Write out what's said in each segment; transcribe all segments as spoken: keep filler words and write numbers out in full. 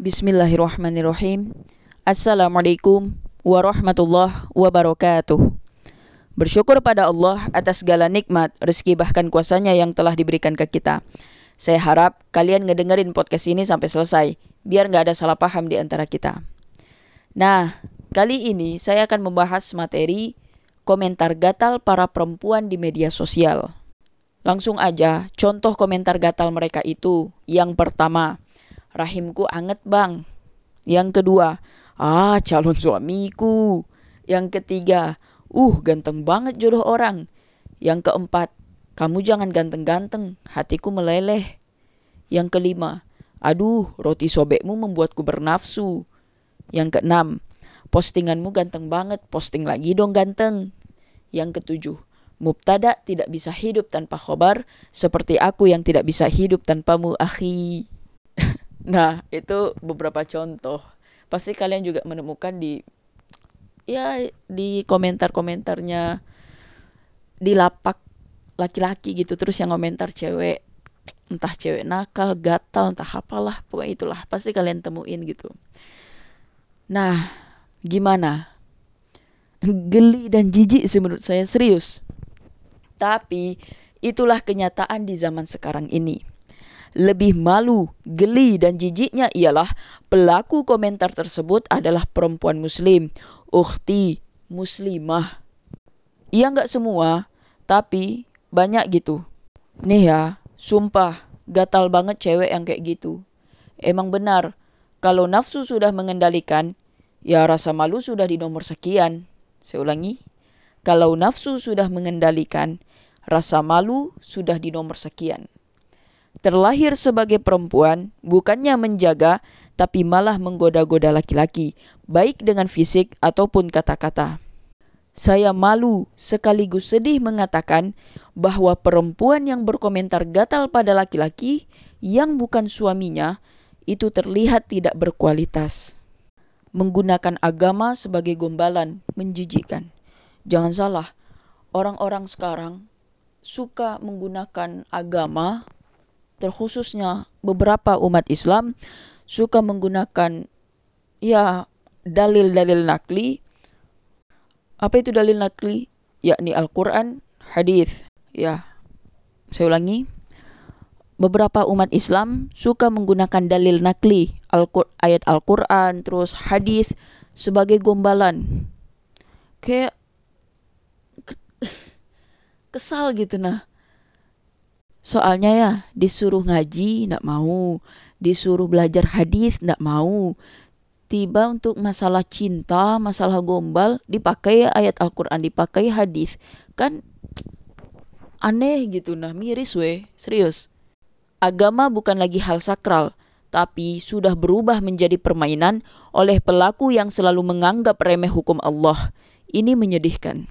Bismillahirrahmanirrahim. Assalamualaikum warahmatullahi wabarakatuh. Bersyukur pada Allah atas segala nikmat, rezeki bahkan kuasanya yang telah diberikan ke kita. Saya harap kalian ngedengerin podcast ini sampai selesai, biar gak ada salah paham di antara kita. Nah, kali ini saya akan membahas materi komentar gatal para perempuan di media sosial. Langsung aja, contoh komentar gatal mereka itu. Yang pertama, rahimku anget bang. Yang kedua, ah calon suamiku. Yang ketiga, uh ganteng banget jodoh orang. Yang keempat, kamu jangan ganteng-ganteng, hatiku meleleh. Yang kelima, aduh roti sobekmu membuatku bernafsu. Yang keenam, postinganmu ganteng banget, posting lagi dong ganteng. Yang ketujuh, mubtada tidak bisa hidup tanpa khobar, seperti aku yang tidak bisa hidup tanpamu akhi. Nah, itu beberapa contoh. Pasti kalian juga menemukan di ya di komentar-komentarnya di lapak laki-laki gitu, terus yang komentar cewek, entah cewek nakal, gatal, entah apalah, pokoknya itulah pasti kalian temuin gitu. Nah, gimana? Geli dan jijik sih menurut saya, serius. Tapi itulah kenyataan di zaman sekarang ini. Lebih malu, geli dan jijiknya ialah pelaku komentar tersebut adalah perempuan muslim, ukhti muslimah. Iya gak semua, tapi banyak gitu. Nih ya, sumpah gatal banget cewek yang kayak gitu. Emang benar, kalau nafsu sudah mengendalikan, ya rasa malu sudah di nomor sekian. Saya ulangi, kalau nafsu sudah mengendalikan, rasa malu sudah di nomor sekian. Terlahir sebagai perempuan, bukannya menjaga, tapi malah menggoda-goda laki-laki, baik dengan fisik ataupun kata-kata. Saya malu sekaligus sedih mengatakan bahwa perempuan yang berkomentar gatal pada laki-laki yang bukan suaminya, itu terlihat tidak berkualitas. Menggunakan agama sebagai gombalan, menjijikkan. Jangan salah, orang-orang sekarang suka menggunakan agama, terkhususnya beberapa umat Islam suka menggunakan ya dalil-dalil nakli. Apa itu dalil nakli? Yakni Al-Quran, hadis. Ya, saya ulangi. Beberapa umat Islam suka menggunakan dalil nakli, Al-Qur- ayat Al-Quran, terus hadis sebagai gombalan. Kayak kesal gitu nah. Soalnya ya disuruh ngaji nggak mau, disuruh belajar hadis nggak mau. Tiba untuk masalah cinta, masalah gombal dipakai ayat Al-Quran, dipakai hadis. Kan aneh gitu nah, miris weh, serius. Agama bukan lagi hal sakral, tapi sudah berubah menjadi permainan oleh pelaku yang selalu menganggap remeh hukum Allah. Ini menyedihkan.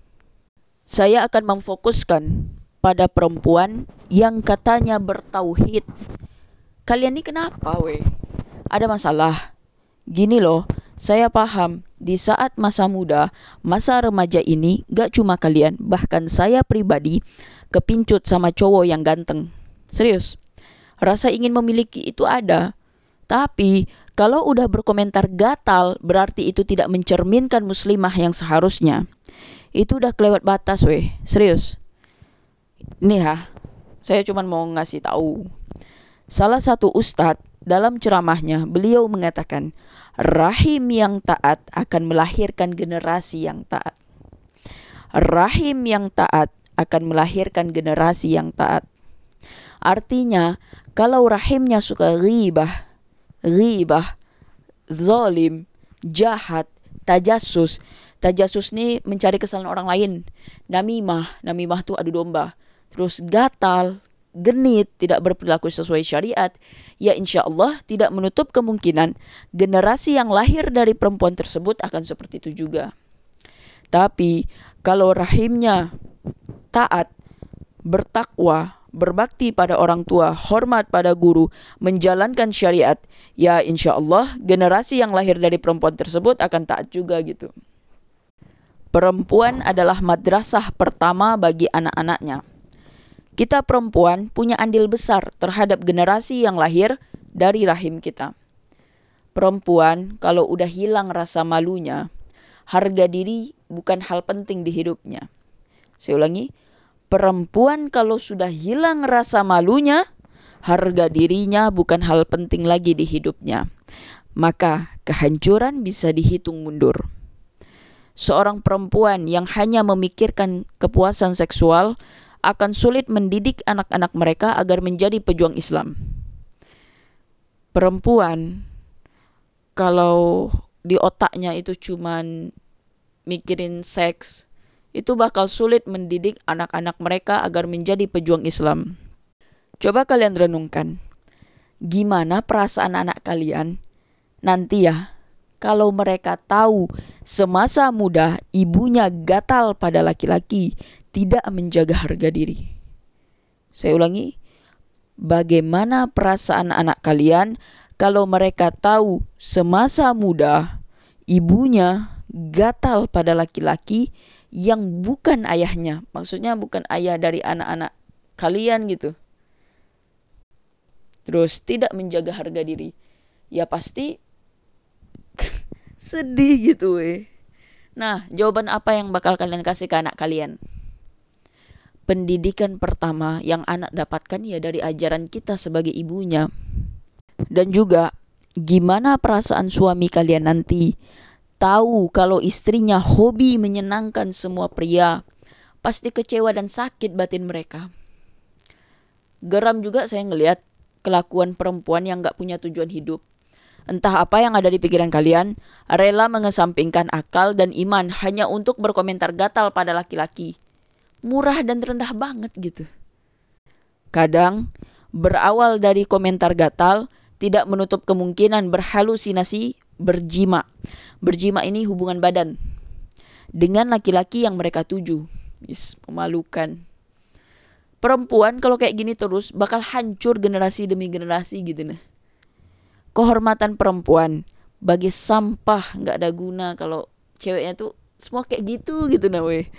Saya akan memfokuskan pada perempuan yang katanya bertauhid. Kalian ini kenapa weh? Ada masalah? Gini loh, saya paham di saat masa muda, masa remaja ini gak cuma kalian, bahkan saya pribadi kepincut sama cowok yang ganteng. Serius, rasa ingin memiliki itu ada. Tapi kalau udah berkomentar gatal, berarti itu tidak mencerminkan muslimah yang seharusnya. Itu udah kelewat batas weh, serius. Nih ya, saya cuma mau ngasih tahu. Salah satu ustadz dalam ceramahnya beliau mengatakan, rahim yang taat akan melahirkan generasi yang taat. Rahim yang taat akan melahirkan generasi yang taat. Artinya, kalau rahimnya suka ghibah, ghibah, zalim, jahat, tajassus. Tajassus nih mencari kesalahan orang lain. Namimah, namimah tuh adu domba. Terus gatal, genit, tidak berperilaku sesuai syariat, ya insya Allah tidak menutup kemungkinan generasi yang lahir dari perempuan tersebut akan seperti itu juga. Tapi kalau rahimnya taat, bertakwa, berbakti pada orang tua, hormat pada guru, menjalankan syariat, ya insya Allah generasi yang lahir dari perempuan tersebut akan taat juga gitu. Perempuan adalah madrasah pertama bagi anak-anaknya. Kita perempuan punya andil besar terhadap generasi yang lahir dari rahim kita. Perempuan kalau udah hilang rasa malunya, harga diri bukan hal penting di hidupnya. Saya ulangi, perempuan kalau sudah hilang rasa malunya, harga dirinya bukan hal penting lagi di hidupnya. Maka kehancuran bisa dihitung mundur. Seorang perempuan yang hanya memikirkan kepuasan seksual akan sulit mendidik anak-anak mereka agar menjadi pejuang Islam. Perempuan kalau di otaknya itu cuman mikirin seks, itu bakal sulit mendidik anak-anak mereka agar menjadi pejuang Islam. Coba kalian renungkan, gimana perasaan anak kalian nanti ya kalau mereka tahu semasa muda ibunya gatal pada laki-laki, tidak menjaga harga diri. Saya ulangi, bagaimana perasaan anak kalian kalau mereka tahu semasa muda ibunya gatal pada laki-laki yang bukan ayahnya. Maksudnya bukan ayah dari anak-anak kalian gitu. Terus tidak menjaga harga diri. Ya pasti sedih gitu weh. Nah, jawaban apa yang bakal kalian kasih ke anak kalian? Pendidikan pertama yang anak dapatkan ya dari ajaran kita sebagai ibunya. Dan juga gimana perasaan suami kalian nanti tahu kalau istrinya hobi menyenangkan semua pria. Pasti kecewa dan sakit batin mereka. Geram juga saya ngelihat kelakuan perempuan yang gak punya tujuan hidup. Entah apa yang ada di pikiran kalian, rela mengesampingkan akal dan iman hanya untuk berkomentar gatal pada laki-laki. Murah dan rendah banget gitu. Kadang berawal dari komentar gatal, tidak menutup kemungkinan berhalusinasi, berjima. Berjima ini hubungan badan dengan laki-laki yang mereka tuju. Is, memalukan. Perempuan kalau kayak gini terus bakal hancur generasi demi generasi gitu nah. Kehormatan perempuan bagi sampah, nggak ada guna kalau ceweknya tuh semua kayak gitu gitu nah weh.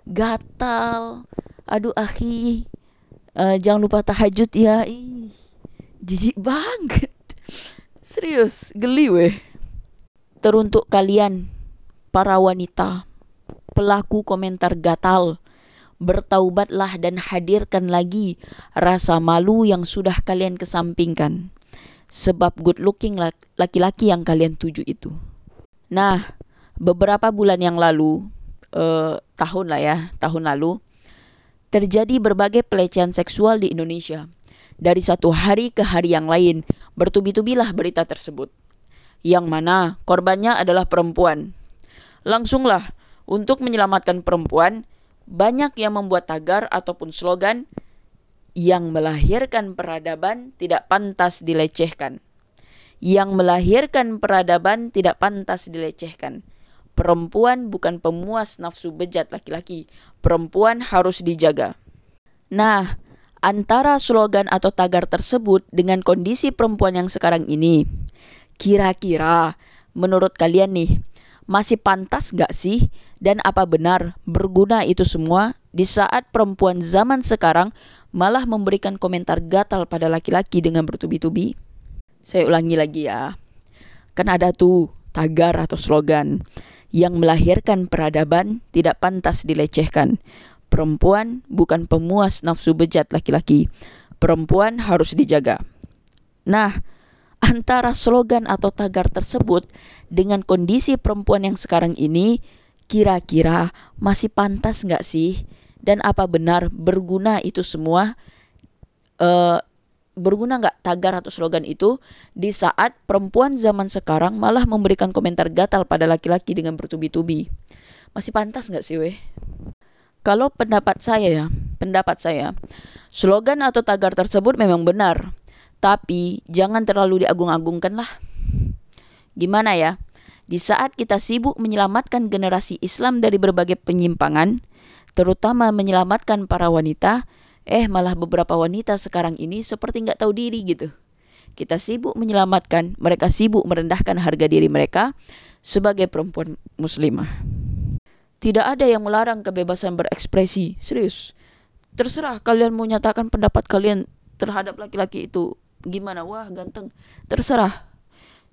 Gatal, aduh akhi, uh, jangan lupa tahajud ya. Ih, jijik banget. Serius, geli weh. Teruntuk kalian para wanita pelaku komentar gatal, bertaubatlah dan hadirkan lagi rasa malu yang sudah kalian kesampingkan. Sebab good looking laki-laki yang kalian tuju itu. Nah, beberapa bulan yang lalu, eh, tahun lah ya, tahun lalu, terjadi berbagai pelecehan seksual di Indonesia. Dari satu hari ke hari yang lain, bertubi-tubilah berita tersebut. Yang mana korbannya adalah perempuan. Langsunglah, untuk menyelamatkan perempuan, banyak yang membuat tagar ataupun slogan yang melahirkan peradaban tidak pantas dilecehkan. Yang melahirkan peradaban tidak pantas dilecehkan. Perempuan bukan pemuas nafsu bejat laki-laki. Perempuan harus dijaga. Nah, antara slogan atau tagar tersebut dengan kondisi perempuan yang sekarang ini, kira-kira menurut kalian nih, masih pantas gak sih? Dan apa benar berguna itu semua di saat perempuan zaman sekarang malah memberikan komentar gatal pada laki-laki dengan bertubi-tubi? Saya ulangi lagi ya. Kan ada tuh tagar atau slogan yang melahirkan peradaban tidak pantas dilecehkan. Perempuan bukan pemuas nafsu bejat laki-laki. Perempuan harus dijaga. Nah, antara slogan atau tagar tersebut dengan kondisi perempuan yang sekarang ini, kira-kira masih pantas gak sih? Dan apa benar berguna itu semua? Uh, berguna gak tagar atau slogan itu di saat perempuan zaman sekarang malah memberikan komentar gatal pada laki-laki dengan bertubi-tubi? Masih pantas gak sih weh? Kalau pendapat saya ya, pendapat saya, slogan atau tagar tersebut memang benar. Tapi jangan terlalu diagung-agungkan lah. Gimana ya? Di saat kita sibuk menyelamatkan generasi Islam dari berbagai penyimpangan, terutama menyelamatkan para wanita, eh malah beberapa wanita sekarang ini seperti gak tahu diri gitu. Kita sibuk menyelamatkan, mereka sibuk merendahkan harga diri mereka sebagai perempuan muslimah. Tidak ada yang melarang kebebasan berekspresi, serius. Terserah kalian mau nyatakan pendapat kalian terhadap laki-laki itu gimana, wah ganteng, terserah.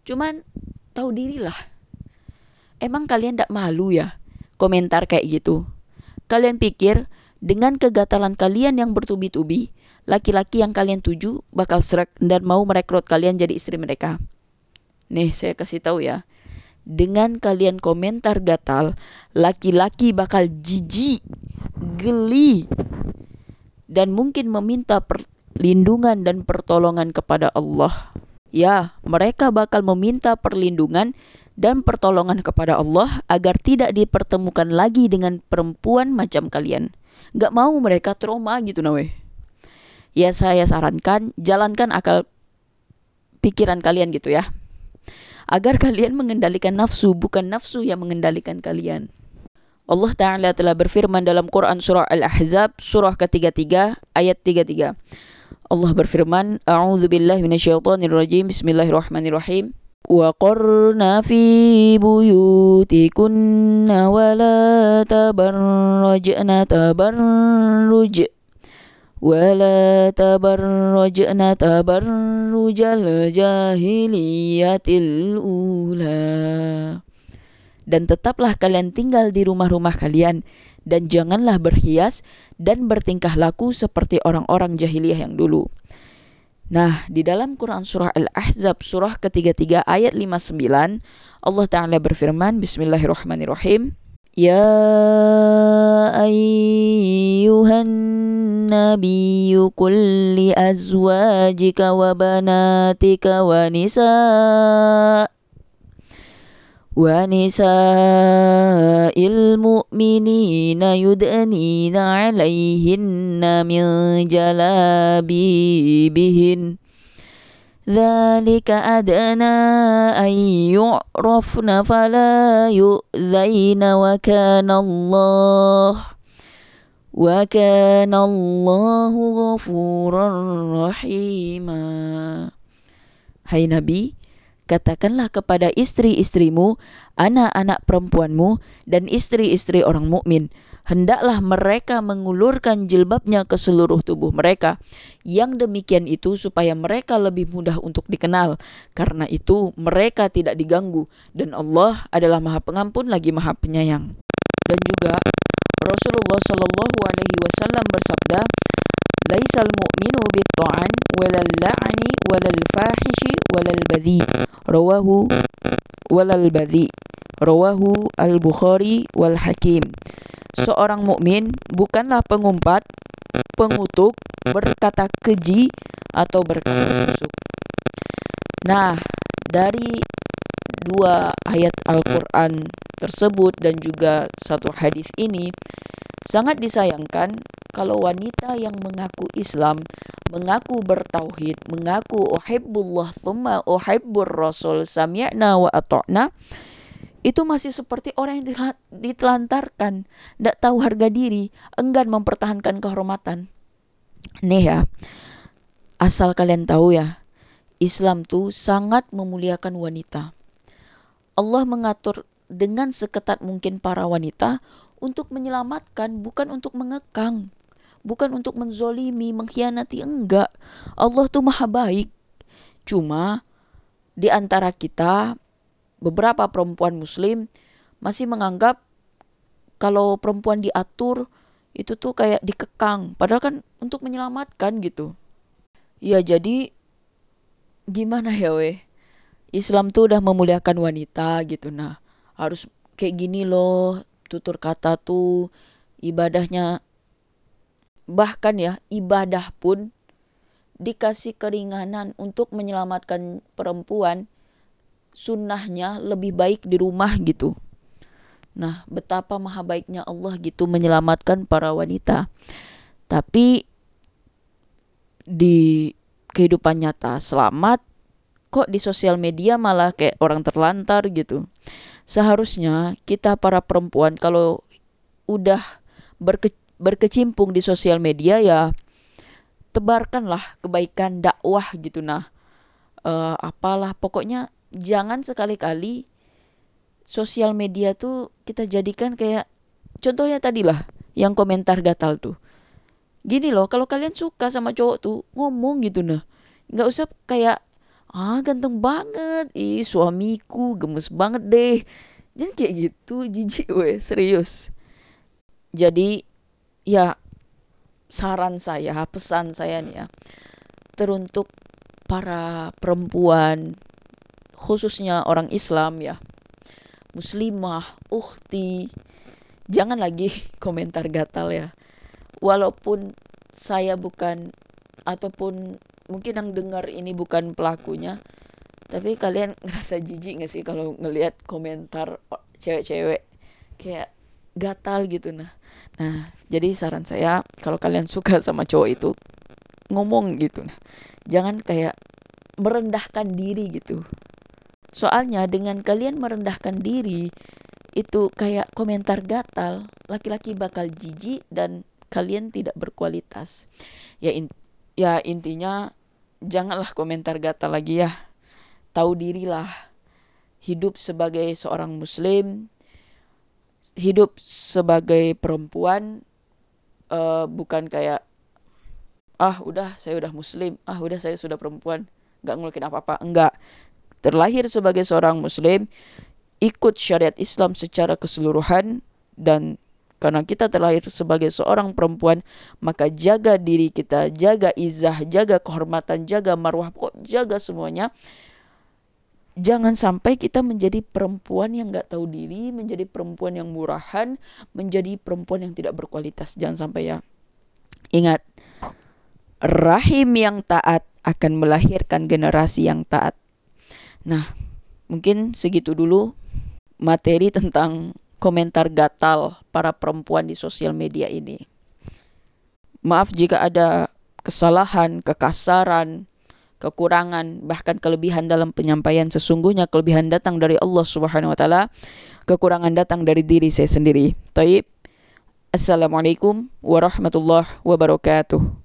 Cuman tahu dirilah. Emang kalian gak malu ya komentar kayak gitu? Kalian pikir dengan kegatalan kalian yang bertubi-tubi, laki-laki yang kalian tuju bakal srek dan mau merekrut kalian jadi istri mereka? Nih saya kasih tahu ya. Dengan kalian komentar gatal, laki-laki bakal jijik, geli, dan mungkin meminta perlindungan dan pertolongan kepada Allah. Ya, mereka bakal meminta perlindungan dan pertolongan kepada Allah agar tidak dipertemukan lagi dengan perempuan macam kalian. Gak mau mereka trauma gitu nawe. Ya saya sarankan jalankan akal pikiran kalian gitu ya. Agar kalian mengendalikan nafsu, bukan nafsu yang mengendalikan kalian. Allah Ta'ala telah berfirman dalam Quran surah Al-Ahzab surah ketiga puluh tiga ayat tiga puluh tiga. Allah berfirman, A'udzu billahi minasyaitonir rajim. Bismillahirrahmanirrahim. Wa qarna fi buyutikunna wa la tabarrajna tabarruj wa la tabarrajna tabarrujal jahiliyatil ula. Dan tetaplah kalian tinggal di rumah-rumah kalian dan janganlah berhias dan bertingkah laku seperti orang-orang jahiliyah yang dulu. Nah, di dalam Quran surah Al-Ahzab surah ketiga puluh tiga ayat lima puluh sembilan, Allah Ta'ala berfirman, Bismillahirrahmanirrahim. Ya ayyuhan nabiyyu qul li azwajika wa banatika wa nisa' وَنِسَاءِ الْمُؤْمِنِينَ يُدْنِينَ عَلَيْهِنَّ مِنْ جَلَابِيبِهِنَّ ذَلِكَ أَدْنَى أَنْ يُعْرَفْنَ فَلَا يُؤْذَيْنَ وَكَانَ اللَّهُ وَكَانَ اللَّهُ غَفُورًا رَحِيمًا. Hai Nabi, katakanlah kepada istri-istrimu, anak-anak perempuanmu, dan istri-istri orang mukmin, hendaklah mereka mengulurkan jilbabnya ke seluruh tubuh mereka. Yang demikian itu supaya mereka lebih mudah untuk dikenal. Karena itu mereka tidak diganggu, dan Allah adalah Maha Pengampun lagi Maha Penyayang. Dan juga Rasulullah Shallallahu Alaihi Wasallam bersabda, Laisal mu'minu bit-ta'an walal la'ani walal fahishi walal badhi rawahu walal badhi rawahu al-Bukhari wal Hakim. Seorang mukmin bukanlah pengumpat, pengutuk, berkata keji atau berkata busuk. Nah, dari dua ayat Al-Quran tersebut dan juga satu hadis ini, sangat disayangkan kalau wanita yang mengaku Islam, mengaku bertauhid, mengaku uhibbullah thumma uhibbur rasul sami'na wa ata'na, itu masih seperti orang yang ditelantarkan, tidak tahu harga diri, enggan mempertahankan kehormatan. Nih ya, asal kalian tahu ya, Islam tuh sangat memuliakan wanita. Allah mengatur dengan seketat mungkin para wanita untuk menyelamatkan, bukan untuk mengekang, bukan untuk menzolimi, mengkhianati, enggak. Allah tuh maha baik. Cuma di antara kita, beberapa perempuan muslim masih menganggap kalau perempuan diatur itu tuh kayak dikekang, padahal kan untuk menyelamatkan gitu. Ya jadi gimana ya weh, Islam tuh udah memuliakan wanita gitu. Nah harus kayak gini loh, tutur kata tuh, ibadahnya, bahkan ya ibadah pun dikasih keringanan untuk menyelamatkan perempuan. Sunnahnya lebih baik di rumah gitu. Nah betapa maha baiknya Allah gitu menyelamatkan para wanita. Tapi di kehidupan nyata selamat, kok di sosial media malah kayak orang terlantar gitu. Seharusnya kita para perempuan kalau udah berke, berkecimpung di sosial media ya tebarkanlah kebaikan, dakwah gitu. Nah uh, apalah pokoknya jangan sekali-kali sosial media tuh kita jadikan kayak, contohnya tadi lah yang komentar gatal tuh. Gini loh, kalau kalian suka sama cowok tuh ngomong gitu, nah nggak usah kayak ah ganteng banget, ih suamiku gemes banget deh. Jadi kayak gitu, jijik weh, serius. Jadi ya saran saya, pesan saya nih ya, teruntuk para perempuan, khususnya orang Islam ya, muslimah, ukhti, jangan lagi komentar gatal ya. Walaupun saya bukan, ataupun mungkin yang dengar ini bukan pelakunya, tapi kalian ngerasa jijik gak sih kalau ngelihat komentar cewek-cewek kayak gatal gitu. Nah, nah jadi saran saya, kalau kalian suka sama cowok itu, ngomong gitu. Nah, jangan kayak merendahkan diri gitu. Soalnya dengan kalian merendahkan diri, itu kayak komentar gatal, laki-laki bakal jijik dan kalian tidak berkualitas. Ya in- ya intinya janganlah komentar gatal lagi ya. Tahu dirilah. Hidup sebagai seorang muslim, hidup sebagai perempuan, uh, bukan kayak ah udah saya udah muslim, ah udah saya sudah perempuan, gak ngelakuin apa-apa. Enggak. Terlahir sebagai seorang muslim, ikut syariat Islam secara keseluruhan, dan karena kita terlahir sebagai seorang perempuan, maka jaga diri kita, jaga izah, jaga kehormatan, jaga marwah, pokok jaga semuanya. Jangan sampai kita menjadi perempuan yang gak tahu diri, menjadi perempuan yang murahan, menjadi perempuan yang tidak berkualitas. Jangan sampai ya. Ingat, rahim yang taat akan melahirkan generasi yang taat. Nah, mungkin segitu dulu materi tentang komentar gatal para perempuan di sosial media ini. Maaf jika ada kesalahan, kekasaran, kekurangan, bahkan kelebihan dalam penyampaian. Sesungguhnya kelebihan datang dari Allah Subhanahu wa taala, kekurangan datang dari diri saya sendiri. Taib. Assalamualaikum warahmatullahi wabarakatuh.